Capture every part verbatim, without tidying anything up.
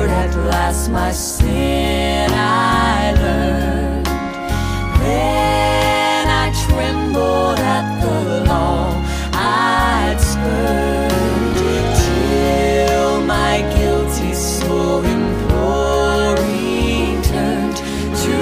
Lord, at last my sin I learned. Then I trembled at the law I'd spurned, till my guilty soul imploring turned to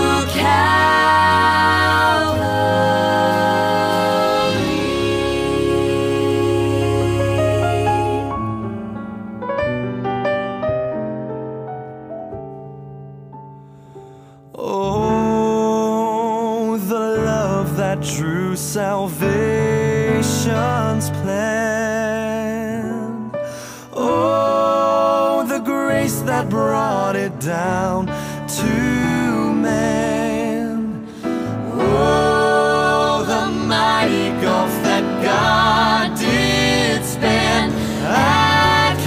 Oh, the love that drew salvation's plan. Oh, the grace that brought it down to man. Oh, the mighty gulf that God did span at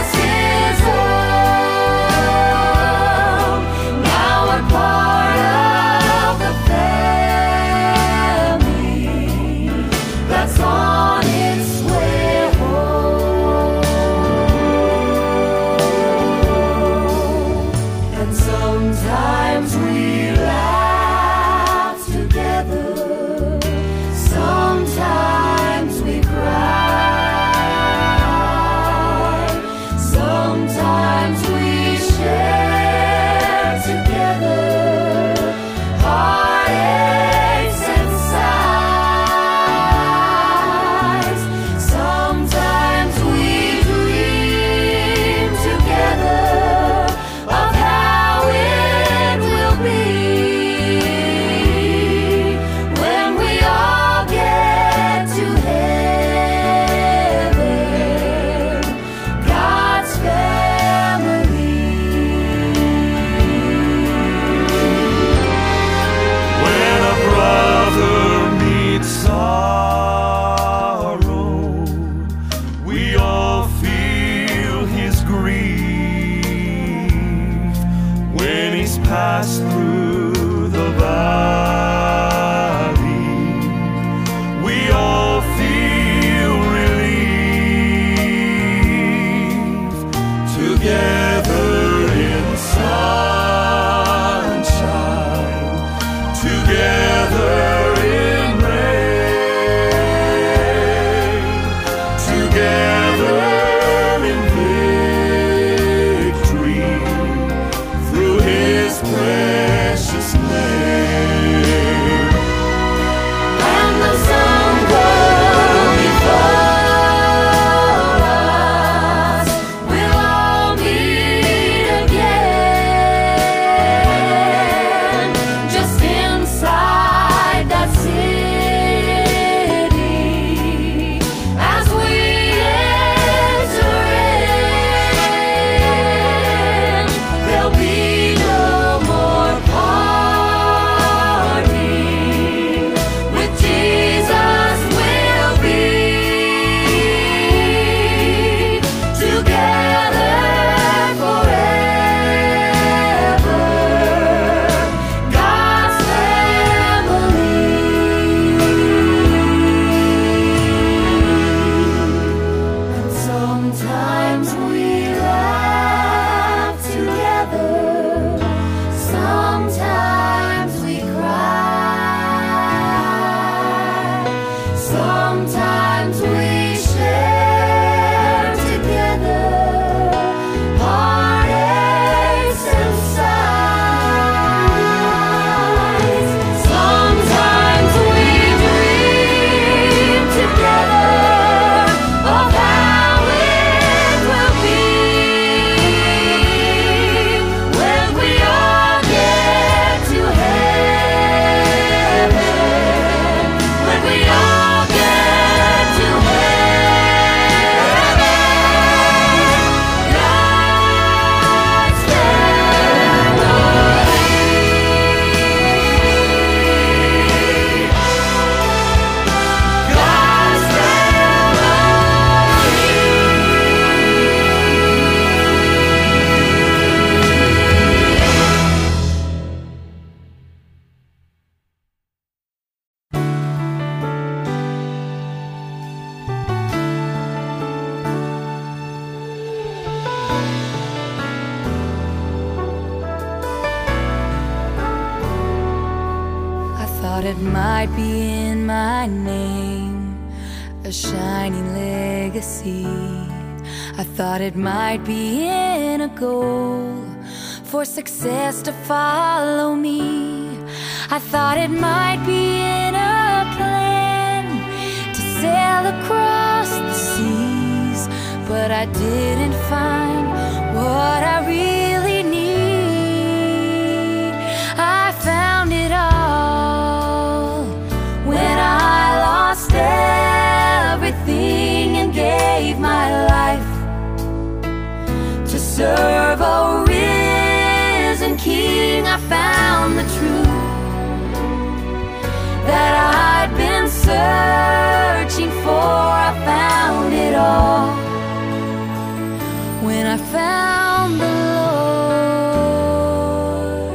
part of together in reign, together in victory, through His precious name. And the sun goes before us, we'll all meet again, just inside that city, as we enter in. There'll be no more parting. With Jesus we'll be together forever, God's family. And sometimes we laugh together, sometimes we cry, sometimes we share together heartaches and sighs. Sometimes we dream together of how it will be when we all get to heaven, when we all get to heaven, God's family, God's I thought it might be in my name, a shining legacy. I thought it might be in a goal for success to follow me. I thought it might be in a plan to sail across the seas, but I didn't find what I really need. I found it all when I lost everything and gave my life to serve a risen King. I found the truth that I'd been searching for. I found it all when I found the Lord.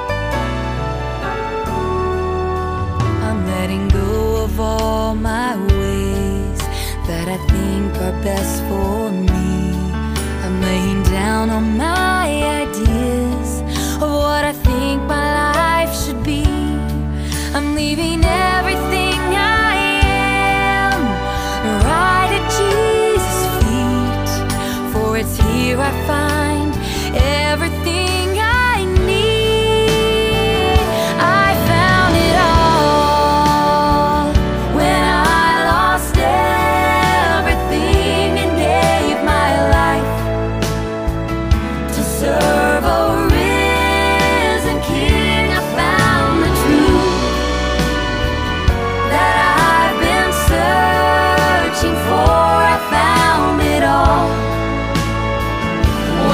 I'm letting go of all my ways that I think are best for me. I'm laying down all my ideas of what I think my life should be. I'm leaving everything I am right at Jesus' feet, for it's here I find everything I need. I found it all when I lost everything and gave my life to serve a risen King. I found the truth that I've been searching for. I found it all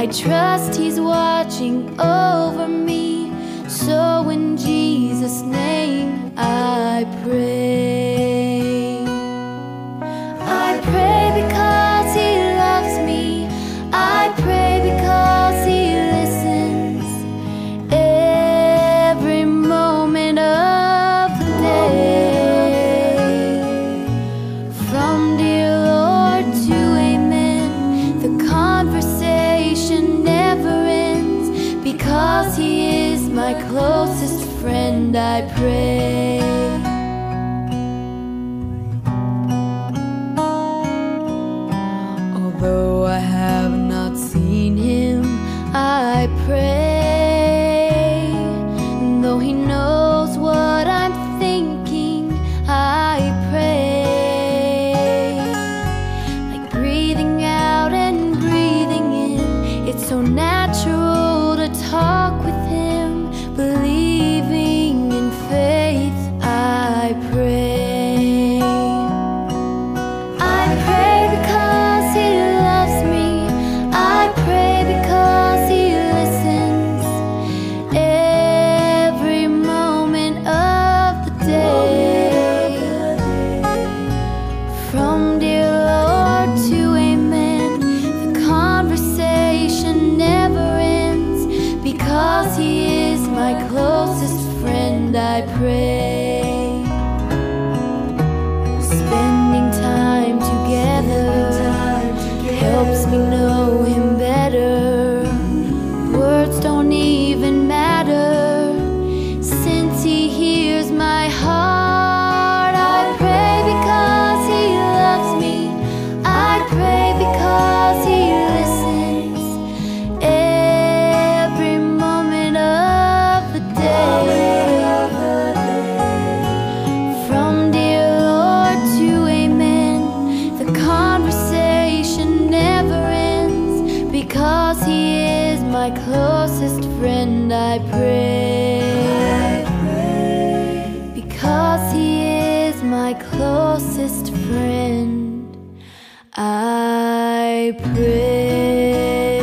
I trust He's watching over me. So in Jesus' name I pray. I pray because He loves me. I pray because He listens every moment of the day. From dear Lord to amen, the conversation never ends. Because He is my closest friend, I pray. Although I have not seen Him, I pray. And though He knows what I'm thinking, I pray. Like breathing out and breathing in, it's so natural to talk with Him. Believing in faith, I pray. I pray because He loves me. I pray because He listens every moment of the day. From dear Lord to amen, the conversation never ends. Because He is my closest friend, I pray. Spending time together helps me know Him better. Words don't even matter, since He hears my heart. I pray because He loves me. I pray because He listens every moment of the day. From dear Lord to amen, the conversation never ends. Because He is my closest friend, I pray. Because He is my closest friend, I pray.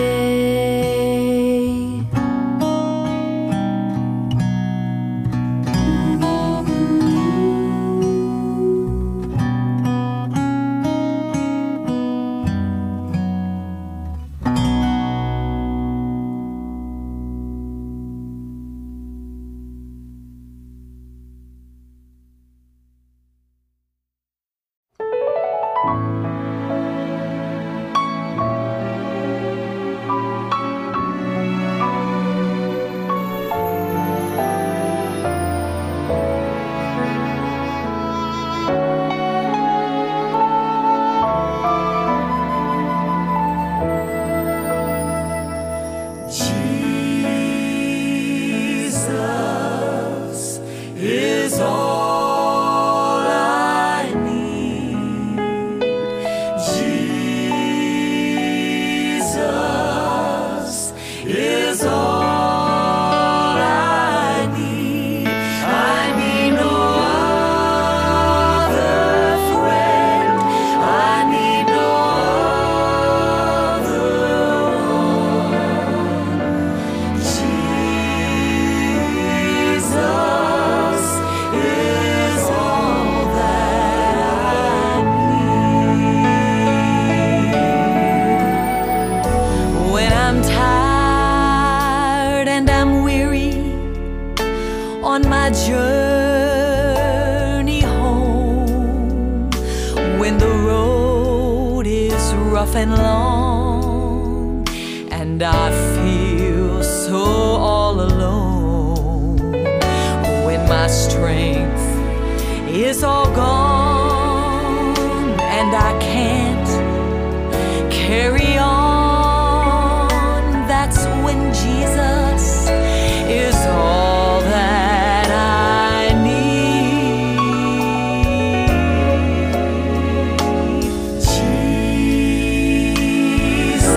Jesus is all I need. Jesus is all I need. I need no other friend. I need no other one. Jesus is all that I need. When I'm tired and I'm weary on my journey home, when the road is rough and long and I feel so all alone, when my strength is all gone and I can't carry on, that's when Jesus is all that I need. Jesus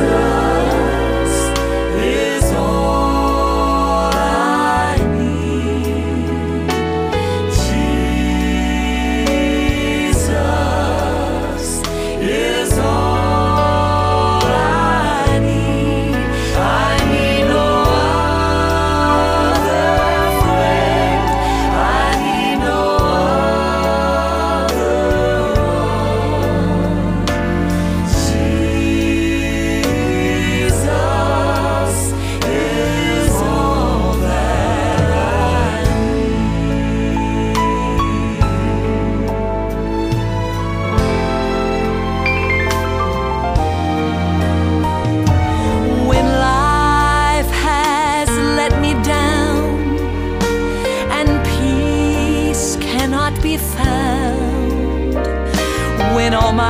is all I need. Jesus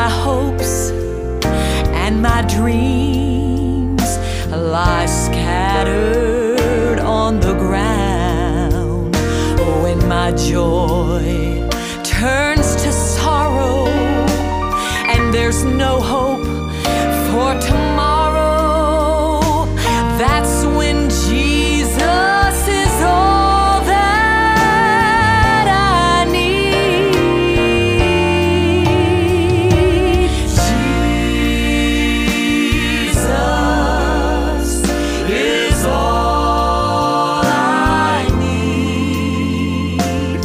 my hopes and my dreams lie scattered on the ground. When my joy turns to sorrow and there's no hope for tomorrow, that's when Jesus is all that I need. Jesus is all I need.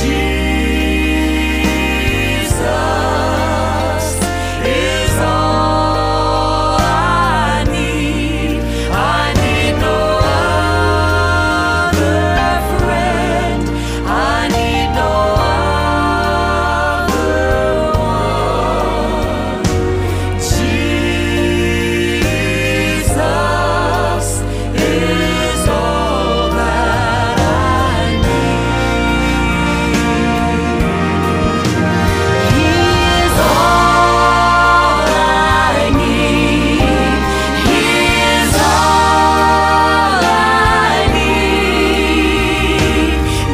Jesus is all I need. I need no other friend. I need no other one. Jesus is all that I need. He is all I need. He is all I need.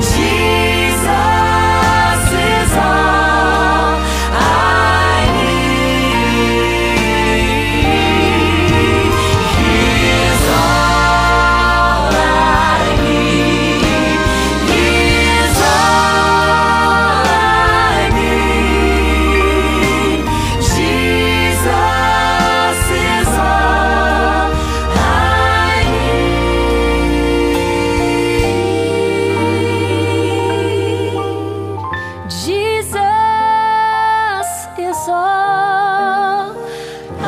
Jesus is all I need. He is all I need. He is all I need. Jesus is all I need. Jesus is all I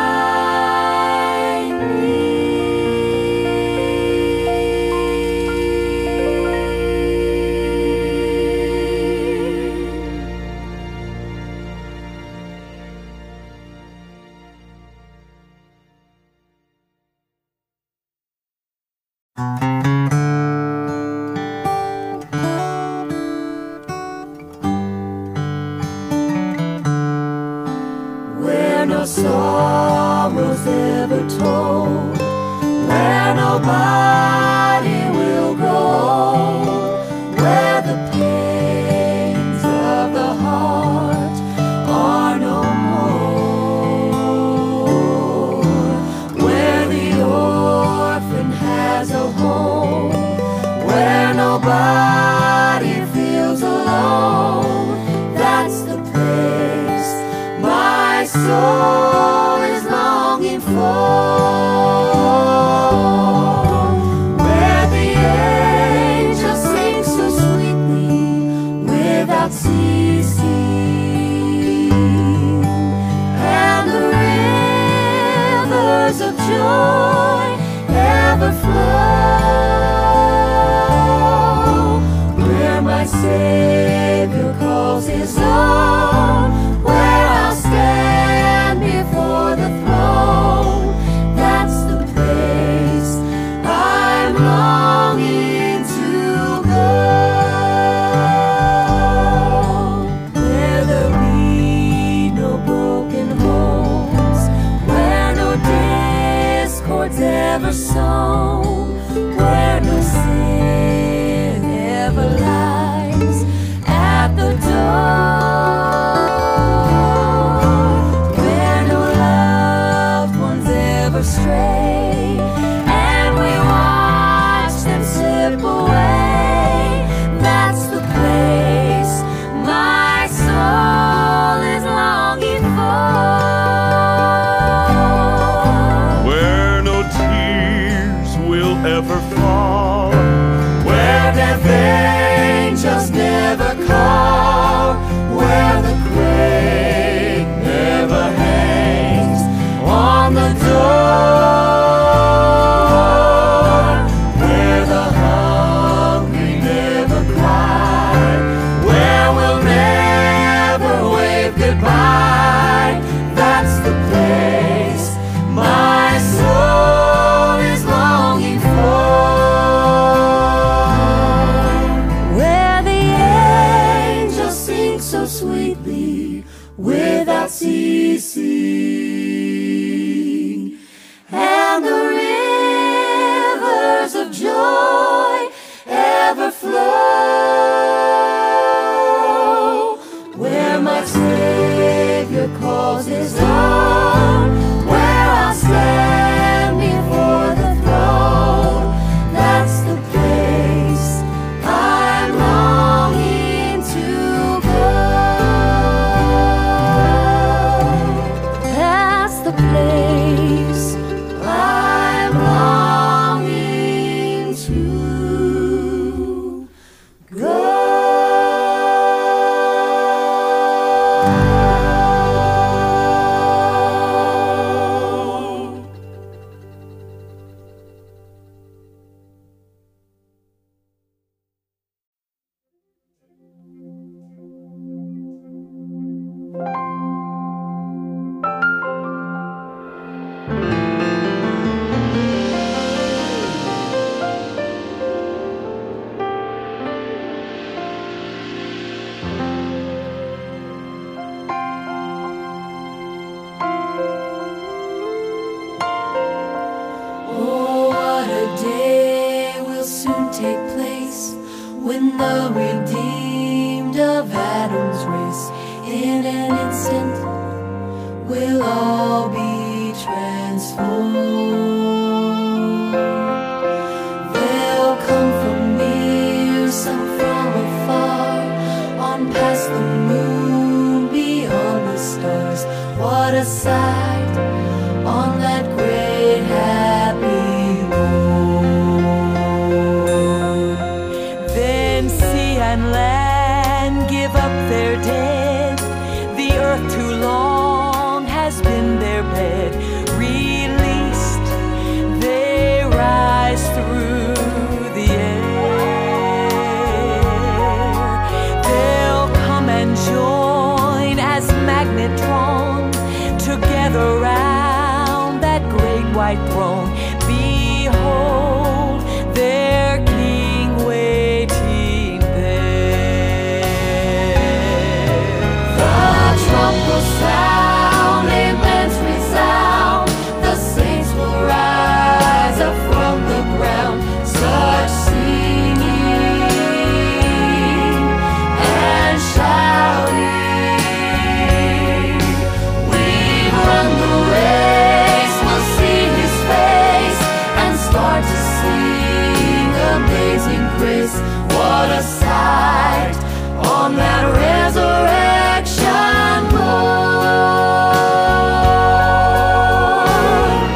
Where no sorrow's ever told, where nobody will grow old, where the pains of the heart are no more, where the orphan has a home, where nobody feels alone. That's the place my soul is longing for, where the angels sing so sweetly without ceasing, and the rivers of joy ever flow, where my Savior calls his own, where I'll stand before the throne. That's the place I'm longing to go, where there be no broken homes, where no discords ever sown, where no sin ever lies at the door, where no loved ones ever stray, and we watch them slip away. That's the place my soul is longing for, where no tears will Oh, what a day will soon take place when the redeemed of Adam's race in an instant will all be transformed. They'll come from near, some from afar, on past the moon, beyond the stars. What a sight on that great happy road. Then sea and land give up their dead. The earth too long has been their bed. Released, they rise through the air. They'll come and join as magnet drawn together round that great white throne. Behold their King waiting there. The trump will sound, amens resound. The saints will rise up from the ground. Such singing and shouting. We've run the race, we'll see His face and start to sing Amazing Grace. What a sight on that resurrection morn.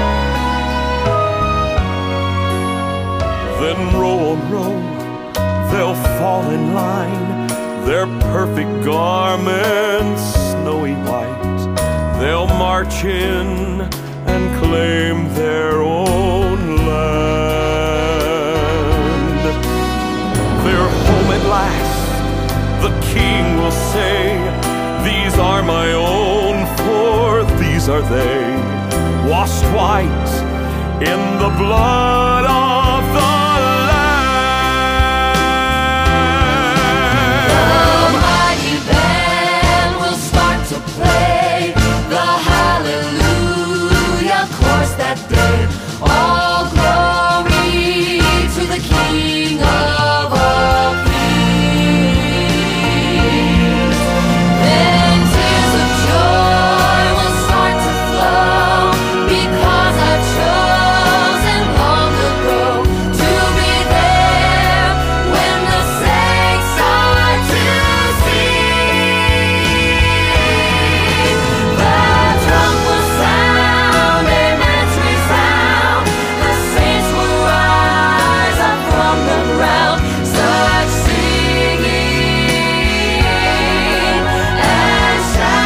Then row on row, they'll fall in line, their perfect garments snowy white. They'll march in and claim their own land. They're home at last, the King will say, these are my own, for these are they, washed white in the blood of the Lamb. The mighty band will start to play the hallelujah chorus that day. All glory to the King of all kings. Then tears of joy will start to flow, because I've chosen long ago to be there when the saints are to sing. The trump will sound, amens resound. The saints will rise up from the ground. Such singing and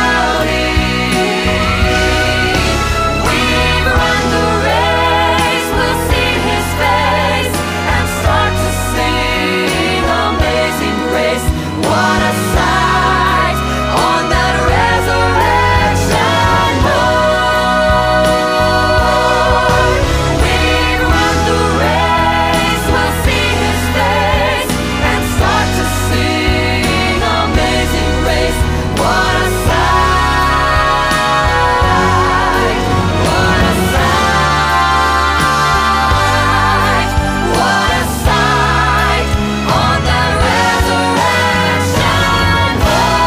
shouting. We've run the race, we'll see His face and start to sing Amazing Grace. What a sight on that resurrection morn. We've run the race, we'll see His face and start to sing Amazing Grace. What a sight, what a sight, what a sight on that resurrection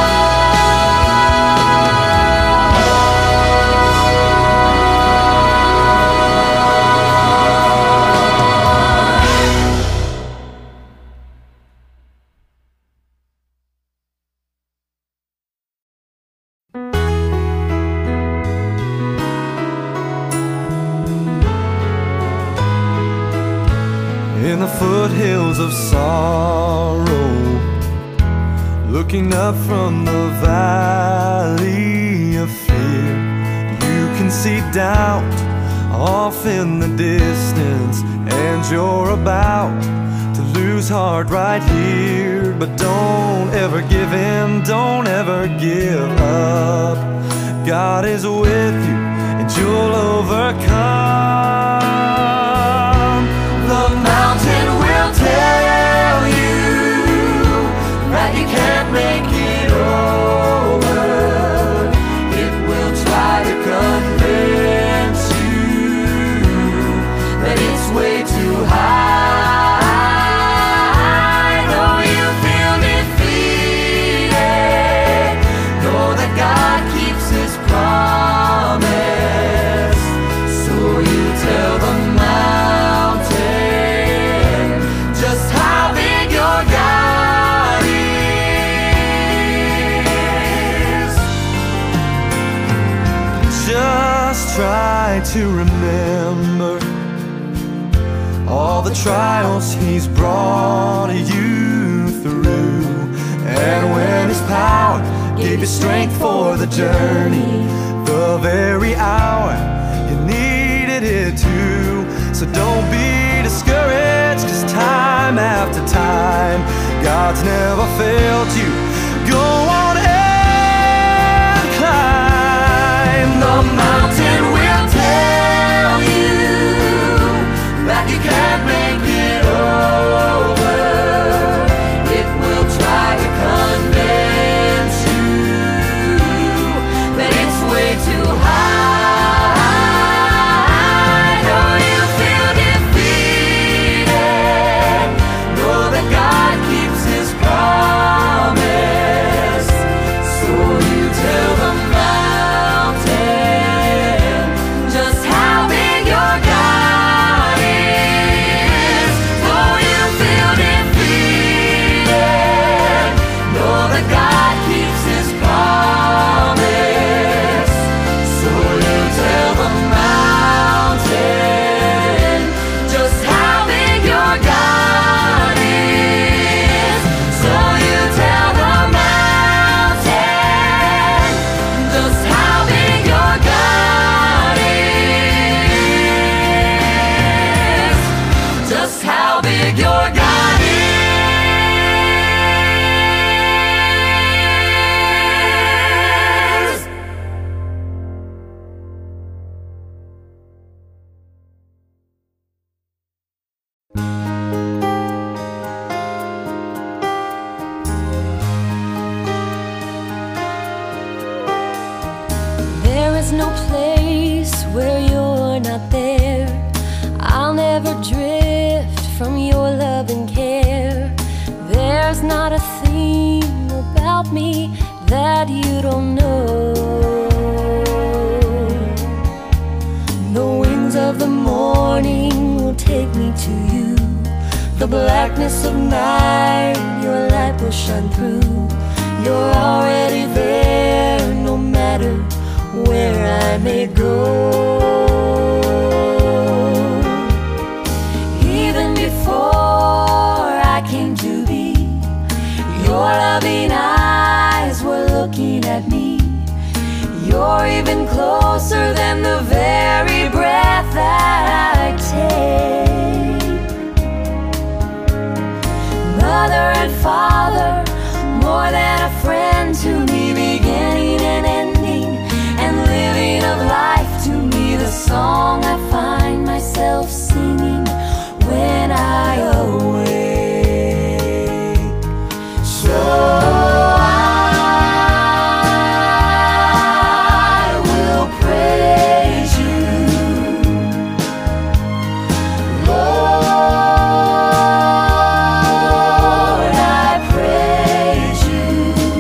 In the foothills of sorrow, looking up from the valley of fear, you can see doubt off in the distance, and you're about to lose heart right here. But don't ever give in, don't ever give up. God is with you and you'll overcome. The mountain will tell you that you can't make it over. It will try to convince you to remember all the trials He's brought you through. And when His power gave you strength for the journey, the very hour you needed it too. So don't be discouraged, 'cause time after time God's never failed you. Go on and climb. The mountain will tell you that you can't make it over. It will try to convince you that it's way too high. Though you feel defeated, know that God keeps His promise. So you tell the mountain just how big your God is. Though you feel defeated, know that God keeps His promise. So you tell the mountain just how big your God is. So you tell the mountain just how big your God is. Just how big your God is. There is no place where you're not there. I'll never drift from your love and care. There's not a thing about me that you don't know. The wings of the morning will take me to you. The blackness of night, your light will shine through. You're already there, no matter where I may go. Even before I came to be, your loving eyes were looking at me. You're even closer than the very breath that I take. Mother and father, more than a friend to me, beginning and ending, and living of life to me, the song I find myself singing when I awake. So I will praise you, Lord, I praise you.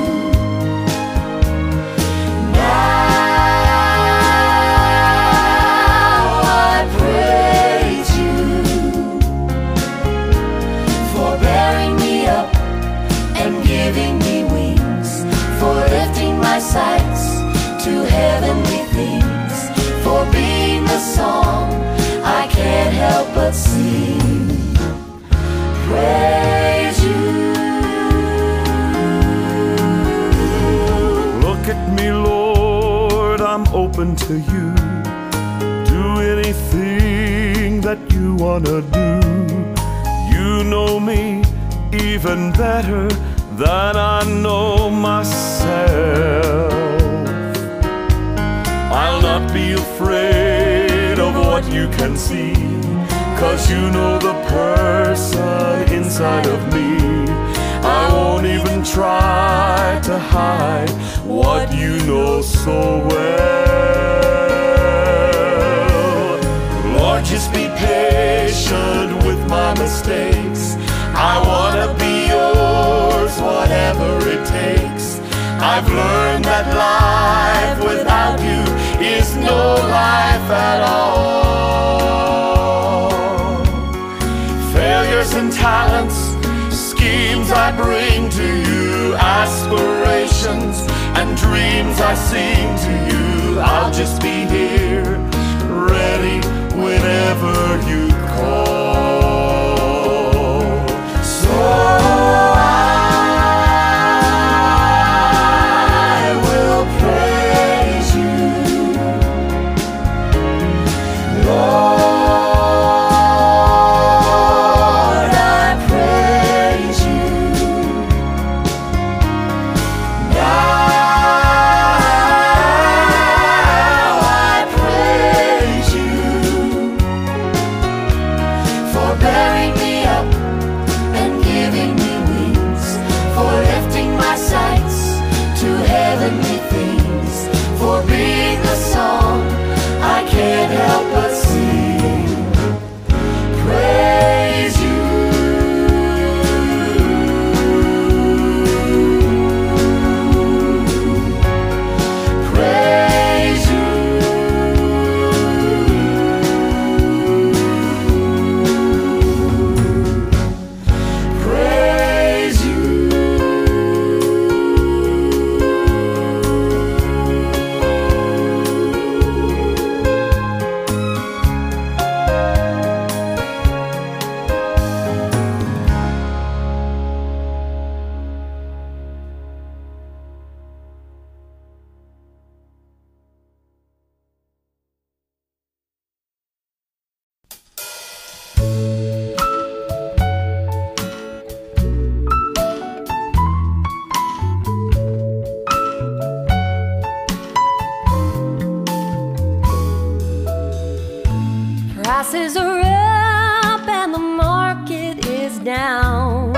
Now I praise you for bearing me up and giving me wings, for lifting my sights to heavenly things, for being the song I can't help but sing. Praise you. Look at me, Lord, I'm open to you. Do anything that you wanna do. You know me even better than I know myself. I'll not be afraid of what you can see, 'cause you know the person inside of me. I won't even try to hide what you know so well. Lord, just be patient with my mistakes. I wanna be yours, whatever it takes. I've learned that life without you is no life at all. Failures and talents, schemes I bring to you, aspirations and dreams I sing to you. I'll just be here, ready whenever you call. So I will praise you, Lord, I praise you. Now I praise you for bearing me up and giving me wings, for lifting my sights to heavenly things, for being the song I can't help but sing. Praise you. Praise you. Praise you. Prices are up and the market is down.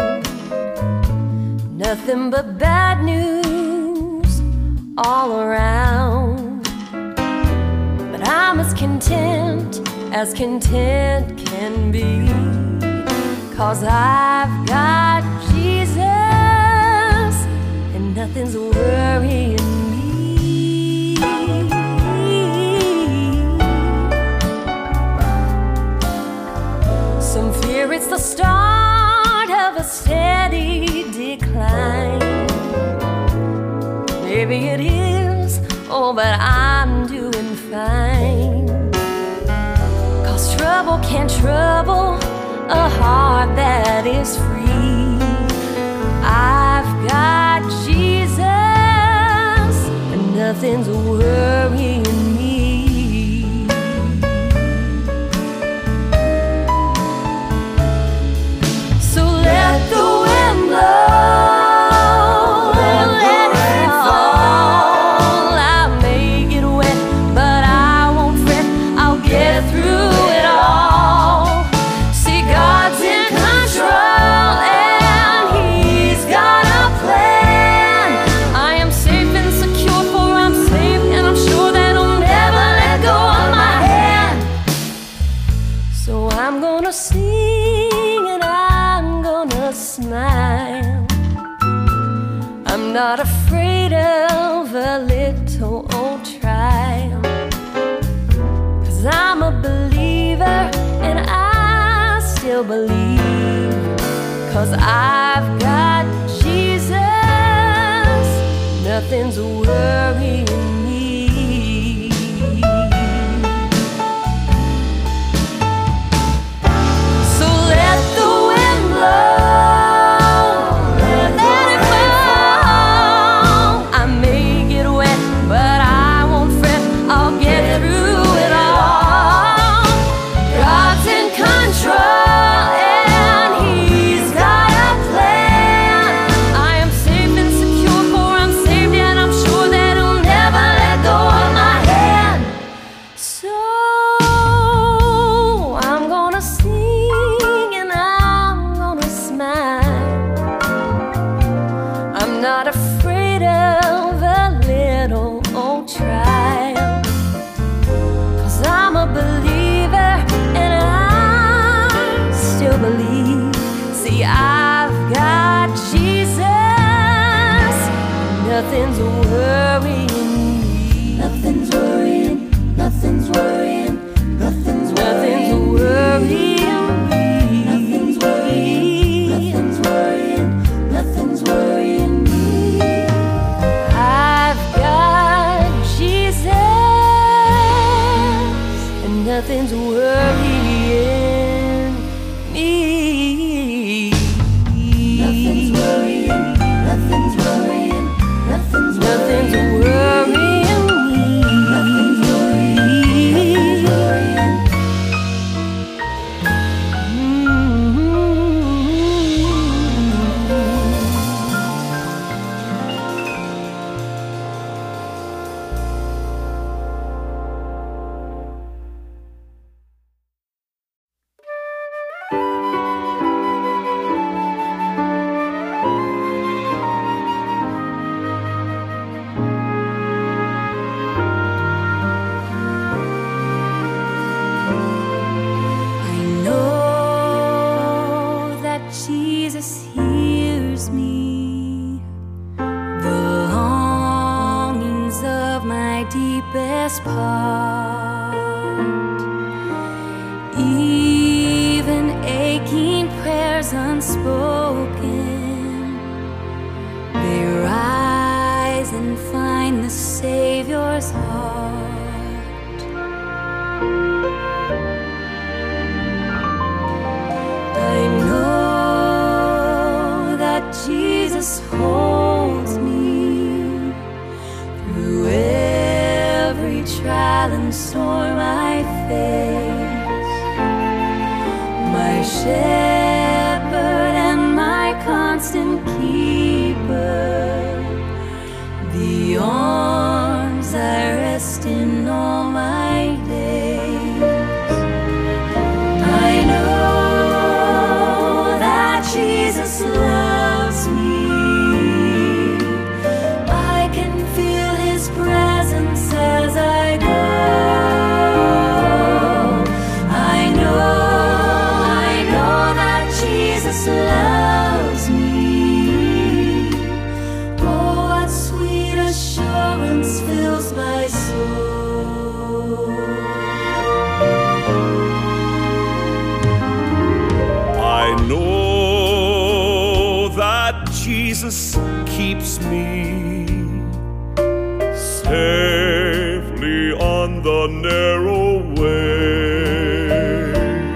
Nothing but bad news all around. But I'm as content as content can be, 'cause I've got Jesus and nothing's worrying me. Some fear it's the start of a steady decline. Maybe it is, oh, but I'm doing fine. 'Cause trouble can't trouble a heart that is free. I've got Jesus and nothing's worrying me. So let the wind blow, let it fall. I may get wet, but I won't fret. I'll get through it all. See, God's in control and He's got a plan. I am safe and secure, for I'm safe and I'm sure that He'll never let go of my hand. So I'm gonna sing and I'm gonna smile. I'm not afraid of a little old trial, 'cause I'm a believer and I still believe. 'Cause I've got Jesus, nothing's worrying me. So let the wind blow, let it fall. I may get wet, but I won't fret. I'll get through it all. God's in control and He's got a plan. I am safe and secure, for I'm saved and I'm sure Jesus hears me, the longings of my deepest part, even aching prayers unspoken, they rise and find the Savior's heart. I know Jesus holds me through every trial and storm I face, my shepherd and my constant keeper, the arms I rest in all my days. I know that Jesus loves me. Loves me. Oh, what sweet assurance fills my soul. I know that Jesus keeps me safely on the narrow way,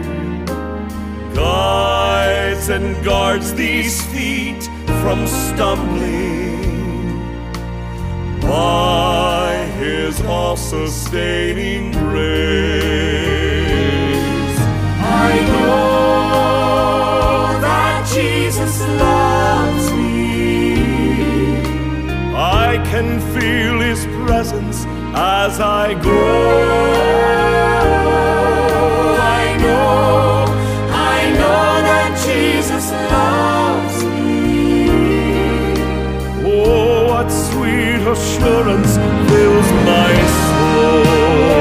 guides and guards these feet from stumbling by His all-sustaining grace. I know that Jesus loves me. I can feel His presence as I go. I know, I know that Jesus loves me. Oh, what sweet assurance fills my soul.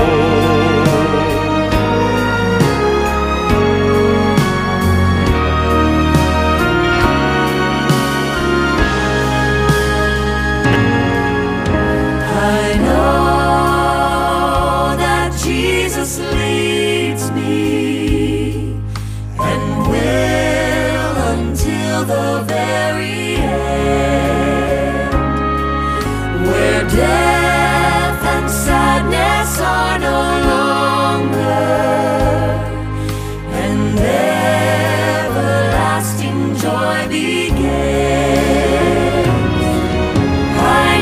Leads me and will until the very end, where death and sadness are no longer, and everlasting joy begins. I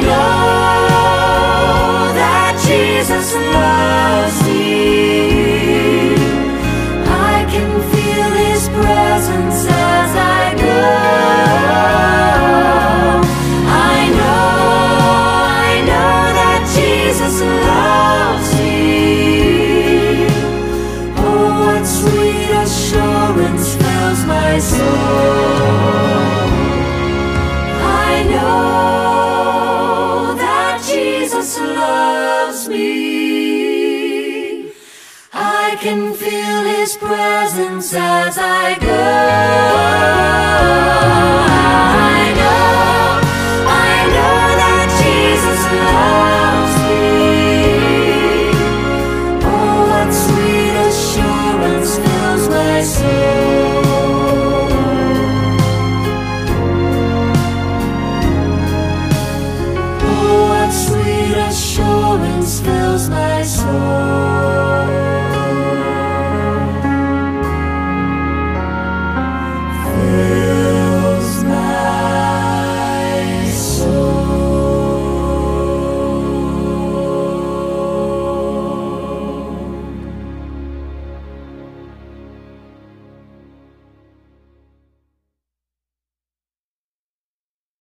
know that Jesus loves me. Presence as I go. I know, I know that Jesus loves me. Oh, what sweet assurance fills my soul. I know that Jesus loves me. I can feel His presence as I go. I know, I know that Jesus loves me. Oh, what sweet assurance fills my soul.